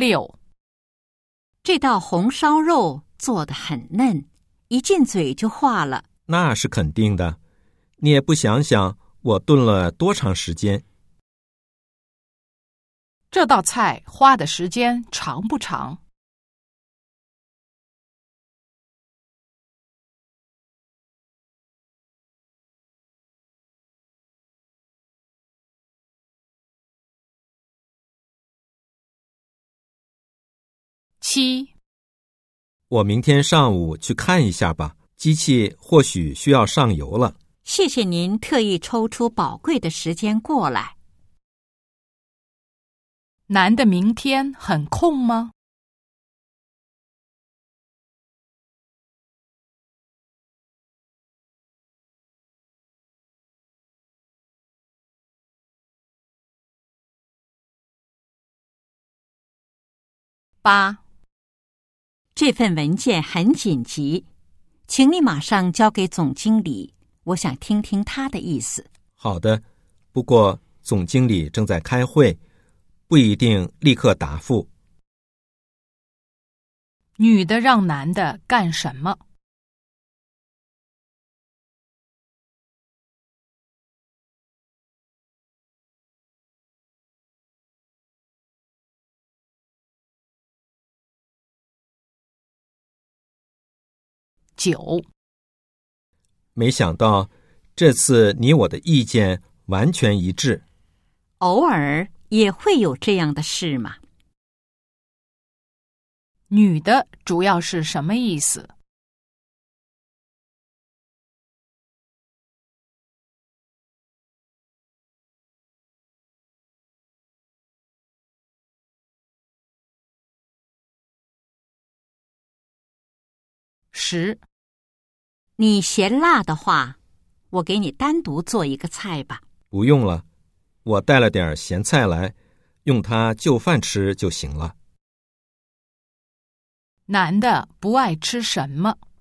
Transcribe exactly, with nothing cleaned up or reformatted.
六， 这道红烧肉做得很嫩，一进嘴就化了。 那是肯定的，你也不想想我炖了多长时间。 这道菜花的时间长不长？七， 我明天上午去看一下吧，机器或许需要上油了。 谢谢您特意抽出宝贵的时间过来。 男的明天很空吗？八， 这份文件很紧急，请你马上交给总经理，我想听听他的意思。 好的，不过总经理正在开会，不一定立刻答复。 女的让男的干什么？九， 没想到这次你我的意见完全一致。 偶尔也会有这样的事嘛。 女的主要是什么意思？十， 你嫌辣的话，我给你单独做一个菜吧。 不用了，我带了点咸菜来，用它就饭吃就行了。 男的不爱吃什么？